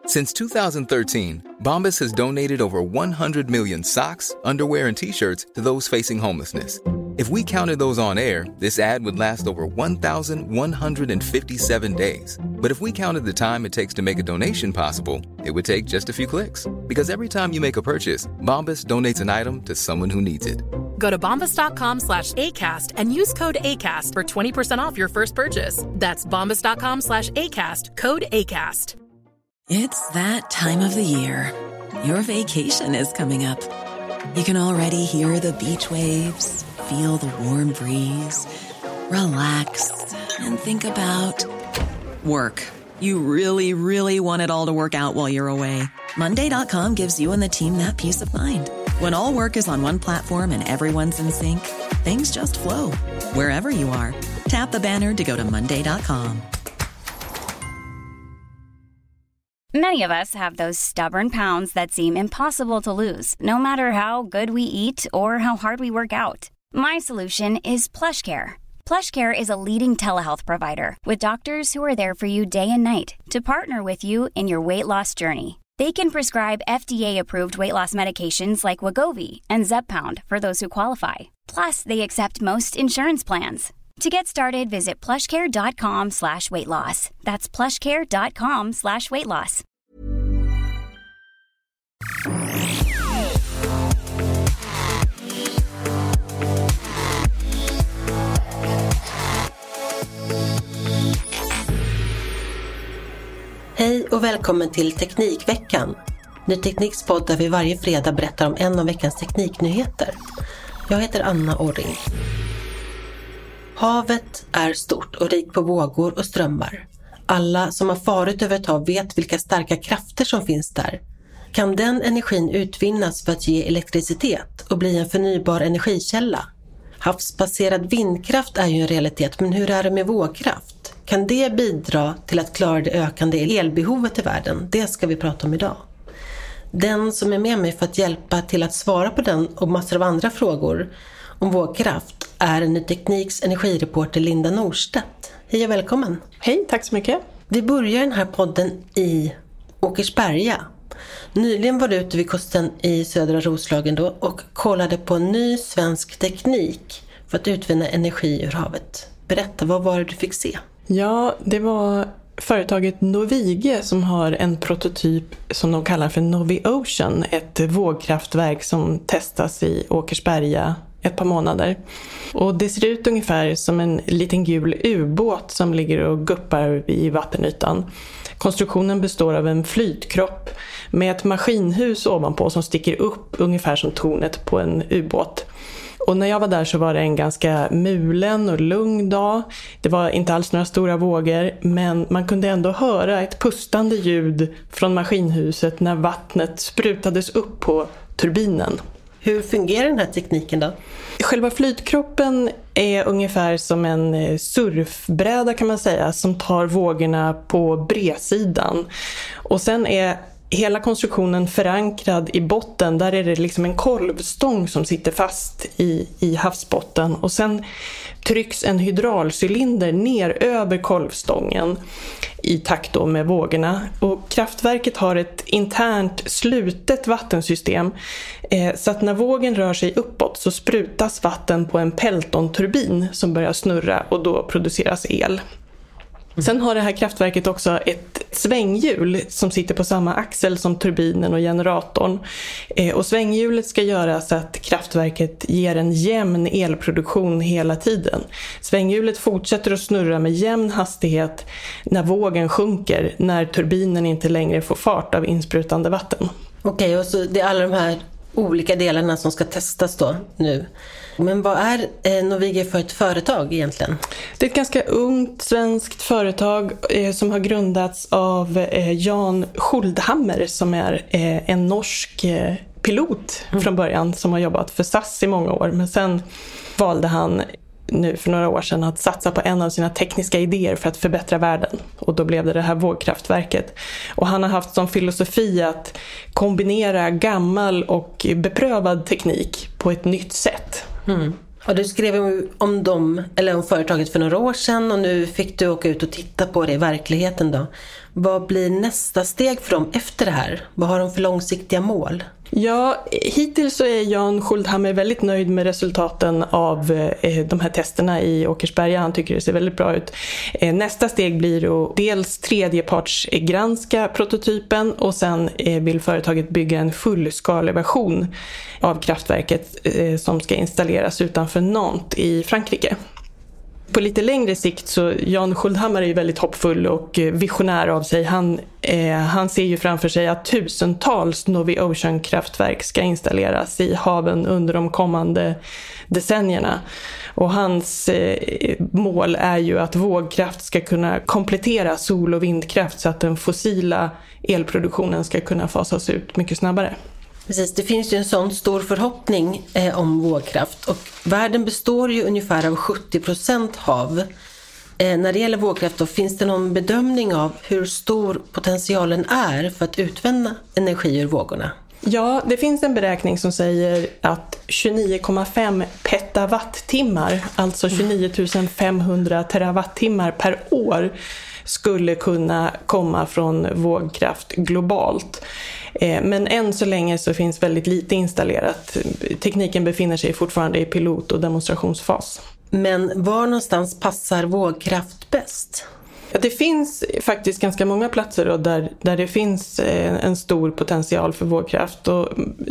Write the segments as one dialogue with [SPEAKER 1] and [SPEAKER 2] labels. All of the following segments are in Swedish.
[SPEAKER 1] Since 2013, Bombas has donated over 100 million socks, underwear, and T-shirts to those facing homelessness. If we counted those on air, this ad would last over 1,157 days. But if we counted the time it takes to make a donation possible, it would take just a few clicks. Because every time you make a purchase, Bombas donates an item to someone who needs it.
[SPEAKER 2] Go to bombas.com/ACAST and use code ACAST for 20% off your first purchase. That's bombas.com/ACAST, code ACAST.
[SPEAKER 3] It's that time of the year. Your vacation is coming up. You can already hear the beach waves, feel the warm breeze, relax, and think about work. You really, really want it all to work out while you're away. Monday.com gives you and the team that peace of mind. When all work is on one platform and everyone's in sync, things just flow. Wherever you are, tap the banner to go to Monday.com.
[SPEAKER 4] Many of us have those stubborn pounds that seem impossible to lose, no matter how good we eat or how hard we work out. My solution is PlushCare. PlushCare is a leading telehealth provider with doctors who are there for you day and night to partner with you in your weight loss journey. They can prescribe FDA-approved weight loss medications like Wegovy and Zepbound for those who qualify. Plus, they accept most insurance plans. To get started, visit plushcare.com/weightloss. That's plushcare.com/weightloss.
[SPEAKER 5] Hej och välkommen till Teknikveckan. Ny Tekniks podd där vi varje fredag berättar om en av veckans tekniknyheter. Jag heter Anna Orring. Havet är stort och rikt på vågor och strömmar. Alla som har farit över ett hav vet vilka starka krafter som finns där. Kan den energin utvinnas för att ge elektricitet och bli en förnybar energikälla? Havsbaserad vindkraft är ju en realitet, men hur är det med vågkraft? Kan det bidra till att klara det ökande elbehovet i världen? Det ska vi prata om idag. Den som är med mig för att hjälpa till att svara på den och massor av andra frågor om vågkraft är Ny Tekniks energireporter Linda Norstedt. Hej och välkommen.
[SPEAKER 6] Hej, tack så mycket.
[SPEAKER 5] Vi börjar den här podden i Åkersberga. Nyligen var du ute vid kusten i södra Roslagen då och kollade på ny svensk teknik för att utvinna energi ur havet. Berätta, vad var det du fick se?
[SPEAKER 6] Ja, det var företaget Novige som har en prototyp som de kallar för Noviocean, ett vågkraftverk som testas i Åkersberga ett par månader. Och det ser ut ungefär som en liten gul ubåt som ligger och guppar i vattenytan. Konstruktionen består av en flytkropp med ett maskinhus ovanpå som sticker upp ungefär som tornet på en ubåt. Och när jag var där så var det en ganska mulen och lugn dag. Det var inte alls några stora vågor, men man kunde ändå höra ett pustande ljud från maskinhuset när vattnet sprutades upp på turbinen.
[SPEAKER 5] Hur fungerar den här tekniken då?
[SPEAKER 6] Själva flytkroppen är ungefär som en surfbräda kan man säga, som tar vågorna på bredsidan. Och sen är hela konstruktionen förankrad i botten. Där är det liksom en kolvstång som sitter fast i havsbotten. Och sen trycks en hydraulcylinder ner över kolvstången i takt då med vågorna. Och kraftverket har ett internt slutet vattensystem. Så att när vågen rör sig uppåt så sprutas vatten på en Pelton-turbin som börjar snurra och då produceras el. Sen har det här kraftverket också ett svänghjul som sitter på samma axel som turbinen och generatorn. Och svänghjulet ska göra så att kraftverket ger en jämn elproduktion hela tiden. Svänghjulet fortsätter att snurra med jämn hastighet när vågen sjunker, när turbinen inte längre får fart av insprutande vatten.
[SPEAKER 5] Okej, och så det är alla de här olika delarna som ska testas då nu. Men vad är Novige för ett företag egentligen?
[SPEAKER 6] Det är ett ganska ungt svenskt företag som har grundats av Jan Schuldhammer som är en norsk pilot från början som har jobbat för SAS i många år. Men sen valde han nu för några år sedan att satsa på en av sina tekniska idéer för att förbättra världen. Och då blev det här vågkraftverket. Och han har haft som filosofi att kombinera gammal och beprövad teknik på ett nytt sätt.
[SPEAKER 5] Mm. Och du skrev om dem, eller om företaget för några år sedan, och nu fick du åka ut och titta på det i verkligheten då. Vad blir nästa steg för dem efter det här? Vad har de för långsiktiga mål?
[SPEAKER 6] Ja, hittills så är Jan Schuldhammer väldigt nöjd med resultaten av de här testerna i Åkersberga. Han tycker det ser väldigt bra ut. Nästa steg blir att dels tredjepartsgranska prototypen och sen vill företaget bygga en fullskalig version av kraftverket som ska installeras utanför Nantes i Frankrike. På lite längre sikt så Jan Schuldhammer är ju väldigt hoppfull och visionär av sig. Han ser ju framför sig att tusentals Novi Ocean-kraftverk ska installeras i haven under de kommande decennierna. Och hans mål är ju att vågkraft ska kunna komplettera sol- och vindkraft så att den fossila elproduktionen ska kunna fasas ut mycket snabbare.
[SPEAKER 5] Precis, det finns ju en sån stor förhoppning om vågkraft, och världen består ju ungefär av 70% hav. När det gäller vågkraft då, finns det någon bedömning av hur stor potentialen är för att utvinna energi ur vågorna?
[SPEAKER 6] Ja, det finns en beräkning som säger att 29,5 petawattimmar, alltså 29 500 terawattimmar per år, skulle kunna komma från vågkraft globalt. Men än så länge så finns väldigt lite installerat. Tekniken befinner sig fortfarande i pilot- och demonstrationsfas.
[SPEAKER 5] Men var någonstans passar vågkraft bäst?
[SPEAKER 6] Ja, det finns faktiskt ganska många platser då, där det finns en stor potential för vågkraft. Och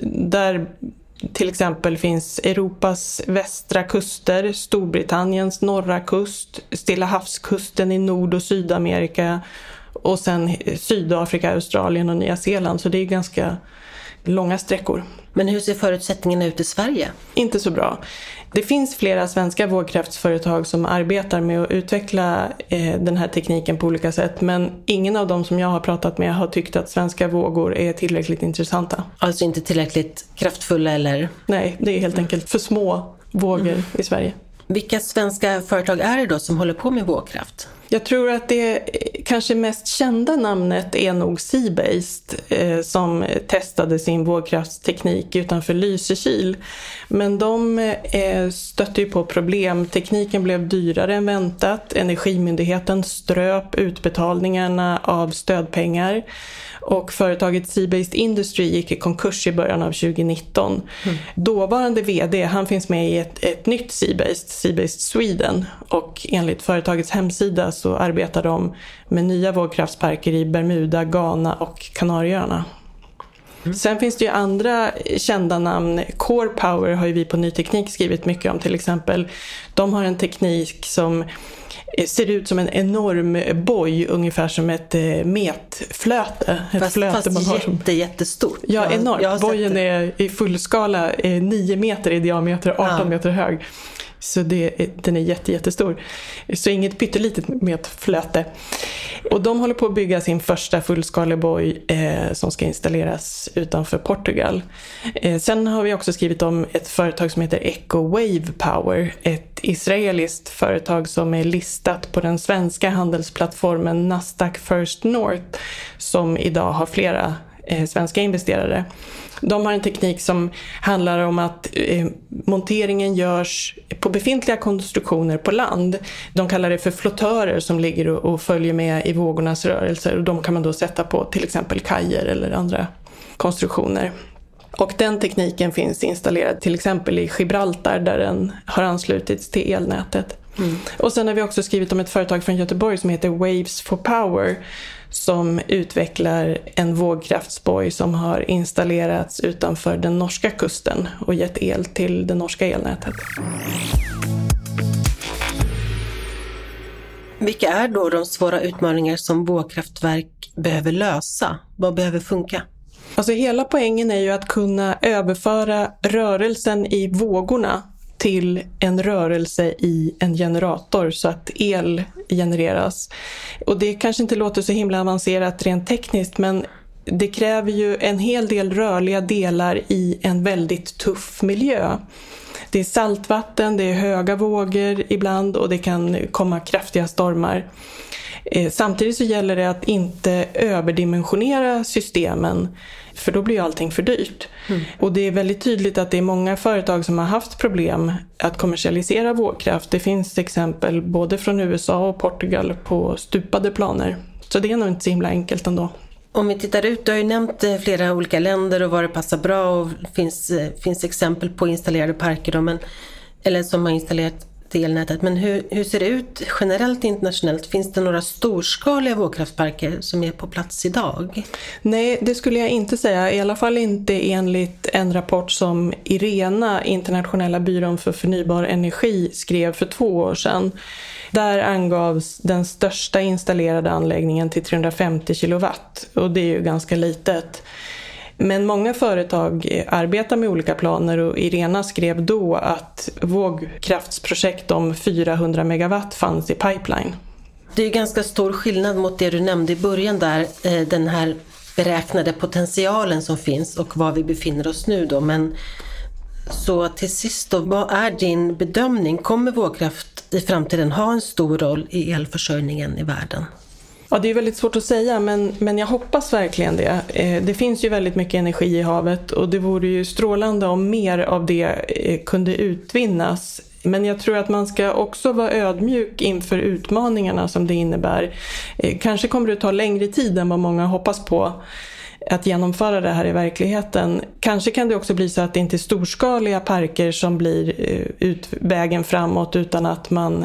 [SPEAKER 6] där till exempel finns Europas västra kuster, Storbritanniens norra kust, Stilla havskusten i Nord- och Sydamerika och sen Sydafrika, Australien och Nya Zeeland. Så det är ganska långa sträckor.
[SPEAKER 5] Men hur ser förutsättningarna ut i Sverige?
[SPEAKER 6] Inte så bra. Det finns flera svenska vågkraftsföretag som arbetar med att utveckla den här tekniken på olika sätt. Men ingen av dem som jag har pratat med har tyckt att svenska vågor är tillräckligt intressanta.
[SPEAKER 5] Alltså inte tillräckligt kraftfulla eller?
[SPEAKER 6] Nej, det är helt enkelt för små vågor i Sverige.
[SPEAKER 5] Vilka svenska företag är det då som håller på med vågkraft?
[SPEAKER 6] Jag tror att det kanske mest kända namnet är nog Seabased som testade sin vågkraftsteknik utanför Lysekil. Men de stötte ju på problem. Tekniken blev dyrare än väntat. Energimyndigheten ströp utbetalningarna av stödpengar. Och företaget Seabased Industry gick i konkurs i början av 2019. Dåvarande vd, han finns med i ett nytt Seabased Sweden. Och enligt företagets hemsida så arbetar de med nya vågkraftsparker i Bermuda, Ghana och Kanarieöarna. Sen finns det ju andra kända namn. Core Power har ju vi på Ny Teknik skrivit mycket om till exempel. De har en teknik som ser ut som en enorm boj, ungefär som ett metflöte.
[SPEAKER 5] Fast jättestort.
[SPEAKER 6] Ja, enormt. Bojen är i fullskala 9 meter i diameter, 18 meter hög. Så den är jättestor. Så inget pyttelitet metflöte. Och de håller på att bygga sin första fullskalig boj som ska installeras utanför Portugal. Sen har vi också skrivit om ett företag som heter Eco Wave Power. Ett israeliskt företag som är listat på den svenska handelsplattformen Nasdaq First North, som idag har flera svenska investerare. De har en teknik som handlar om att monteringen görs på befintliga konstruktioner på land. De kallar det för flottörer som ligger och följer med i vågornas rörelser. Och de kan man då sätta på till exempel kajer eller andra konstruktioner. Och den tekniken finns installerad till exempel i Gibraltar där den har anslutits till elnätet. Och sen har vi också skrivit om ett företag från Göteborg som heter Waves for Power som utvecklar en vågkraftsboj som har installerats utanför den norska kusten och gett el till det norska elnätet.
[SPEAKER 5] Vilka är då de svåra utmaningar som vågkraftverk behöver lösa? Vad behöver funka?
[SPEAKER 6] Alltså hela poängen är ju att kunna överföra rörelsen i vågorna till en rörelse i en generator så att el genereras. Och det kanske inte låter så himla avancerat rent tekniskt, men det kräver ju en hel del rörliga delar i en väldigt tuff miljö. Det är saltvatten, det är höga vågor ibland och det kan komma kraftiga stormar. Samtidigt så gäller det att inte överdimensionera systemen, för då blir allting för dyrt. Och det är väldigt tydligt att det är många företag som har haft problem att kommersialisera vågkraft. Det finns exempel både från USA och Portugal på stupade planer. Så det är nog inte så himla enkelt ändå.
[SPEAKER 5] Om vi tittar ut, du har ju nämnt flera olika länder och var det passar bra, och finns exempel på installerade parker då, eller som har installerat till elnätet. Men hur ser det ut generellt internationellt? Finns det några storskaliga vågkraftparker som är på plats idag?
[SPEAKER 6] Nej, det skulle jag inte säga. I alla fall inte enligt en rapport som IRENA, Internationella byrån för förnybar energi, skrev för 2 år sedan. Där angavs den största installerade anläggningen till 350 kilowatt, och det är ju ganska litet. Men många företag arbetar med olika planer, och IRENA skrev då att vågkraftsprojekt om 400 megawatt fanns i pipeline.
[SPEAKER 5] Det är ganska stor skillnad mot det du nämnde i början där, den här beräknade potentialen som finns och var vi befinner oss nu då. Men så till sist då, vad är din bedömning? Kommer vågkraft i framtiden ha en stor roll i elförsörjningen i världen?
[SPEAKER 6] Ja, det är väldigt svårt att säga, men jag hoppas verkligen det. Det finns ju väldigt mycket energi i havet, och det vore ju strålande om mer av det kunde utvinnas. Men jag tror att man ska också vara ödmjuk inför utmaningarna som det innebär. Kanske kommer det ta längre tid än vad många hoppas på att genomföra det här i verkligheten. Kanske kan det också bli så att det inte är storskaliga parker som blir vägen framåt, utan att man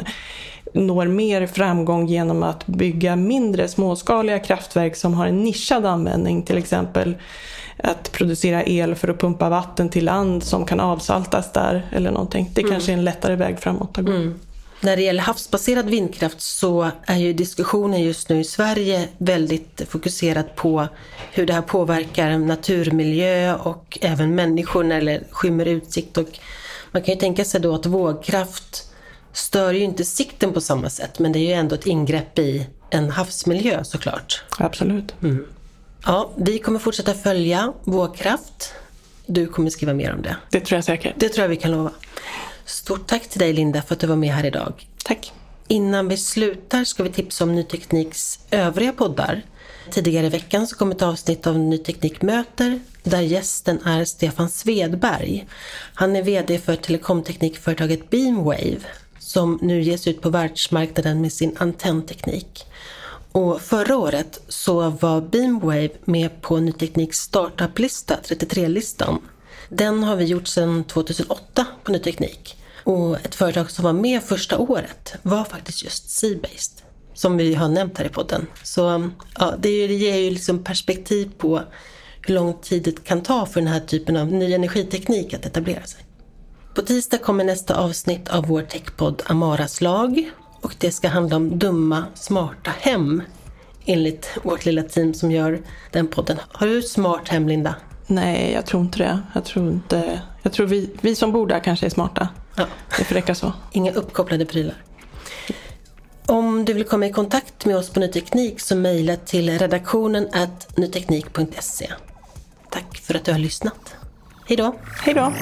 [SPEAKER 6] når mer framgång genom att bygga mindre småskaliga kraftverk som har en nischad användning, till exempel att producera el för att pumpa vatten till land som kan avsaltas där eller någonting. Det kanske är en lättare väg framåt att gå.
[SPEAKER 5] När det gäller havsbaserad vindkraft så är ju diskussionen just nu i Sverige väldigt fokuserad på hur det här påverkar naturmiljö och även människor när det skymmer utsikt. Och man kan ju tänka sig då att vågkraft stör ju inte sikten på samma sätt, men det är ju ändå ett ingrepp i en havsmiljö såklart.
[SPEAKER 6] Absolut.
[SPEAKER 5] Ja, vi kommer fortsätta följa vågkraft. Du kommer skriva mer om det.
[SPEAKER 6] Det tror jag säkert.
[SPEAKER 5] Det tror jag vi kan lova. Stort tack till dig, Linda, för att du var med här idag.
[SPEAKER 6] Tack.
[SPEAKER 5] Innan vi slutar ska vi tipsa om Ny Tekniks övriga poddar. Tidigare i veckan så kom ett avsnitt av Ny Teknik möter, där gästen är Stefan Svedberg. Han är vd för telekomteknikföretaget Beamwave, som nu ges ut på världsmarknaden med sin antennteknik. Och förra året så var Beamwave med på Ny Tekniks startup-lista, 33-listan. Den har vi gjort sedan 2008 på Ny Teknik. Och ett företag som var med första året var faktiskt just Seabased, som vi har nämnt här i podden. Så ja, det ger ju liksom perspektiv på hur lång tid det kan ta för den här typen av ny energiteknik att etablera sig. På tisdag kommer nästa avsnitt av vår techpodd Amaras lag, och det ska handla om dumma, smarta hem, enligt vårt lilla team som gör den podden. Har du smart hem, Linda?
[SPEAKER 6] Nej, jag tror inte det. Jag tror vi som bor där kanske är smarta.
[SPEAKER 5] Ja.
[SPEAKER 6] Det får räcka så.
[SPEAKER 5] Inga uppkopplade prylar. Om du vill komma i kontakt med oss på Ny Teknik så mejla till redaktionen@nyteknik.se. Tack för att du har lyssnat. Hej då!
[SPEAKER 6] Hej då!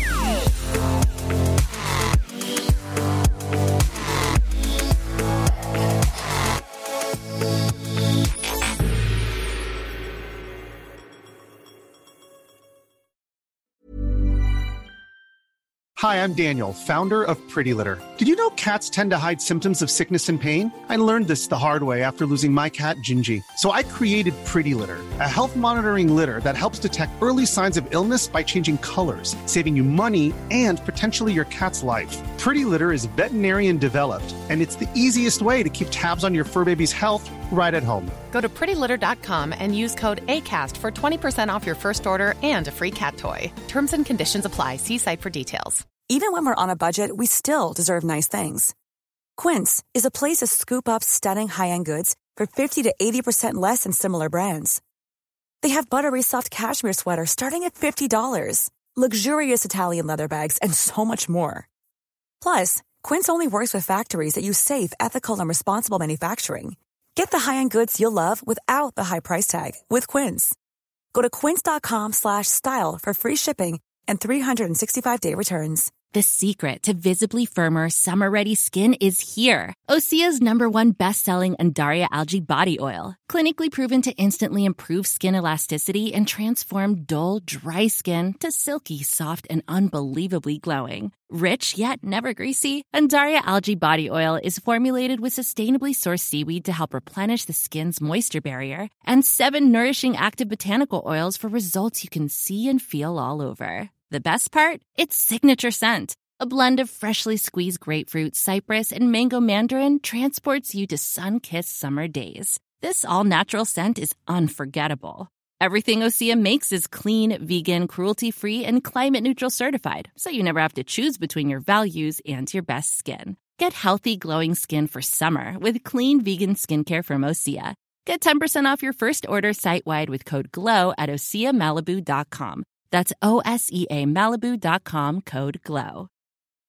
[SPEAKER 7] Hi, I'm Daniel, founder of Pretty Litter. Did you know cats tend to hide symptoms of sickness and pain? I learned this the hard way after losing my cat, Gingy. So I created Pretty Litter, a health monitoring litter that helps detect early signs of illness by changing colors, saving you money and potentially your cat's life. Pretty Litter is veterinarian developed, and it's the easiest way to keep tabs on your fur baby's health right at home.
[SPEAKER 8] Go to prettylitter.com and use code ACAST for 20% off your first order and a free cat toy. Terms and conditions apply. See site for details.
[SPEAKER 9] Even when we're on a budget, we still deserve nice things. Quince is a place to scoop up stunning high-end goods for 50 to 80% less than similar brands. They have buttery soft cashmere sweaters starting at $50, luxurious Italian leather bags, and so much more. Plus, Quince only works with factories that use safe, ethical, and responsible manufacturing. Get the high-end goods you'll love without the high price tag with Quince. Go to quince.com/style for free shipping and 365-day returns.
[SPEAKER 10] The secret to visibly firmer, summer-ready skin is here. Osea's #1 best-selling Undaria Algae Body Oil. Clinically proven to instantly improve skin elasticity and transform dull, dry skin to silky, soft, and unbelievably glowing. Rich yet never greasy, Undaria Algae Body Oil is formulated with sustainably sourced seaweed to help replenish the skin's moisture barrier and 7 nourishing active botanical oils for results you can see and feel all over. The best part? Its signature scent. A blend of freshly squeezed grapefruit, cypress, and mango mandarin transports you to sun-kissed summer days. This all-natural scent is unforgettable. Everything Osea makes is clean, vegan, cruelty-free, and climate-neutral certified, so you never have to choose between your values and your best skin. Get healthy, glowing skin for summer with clean, vegan skincare from Osea. Get 10% off your first order site-wide with code GLOW at OseaMalibu.com. That's OSEAMalibu.com, code GLOW.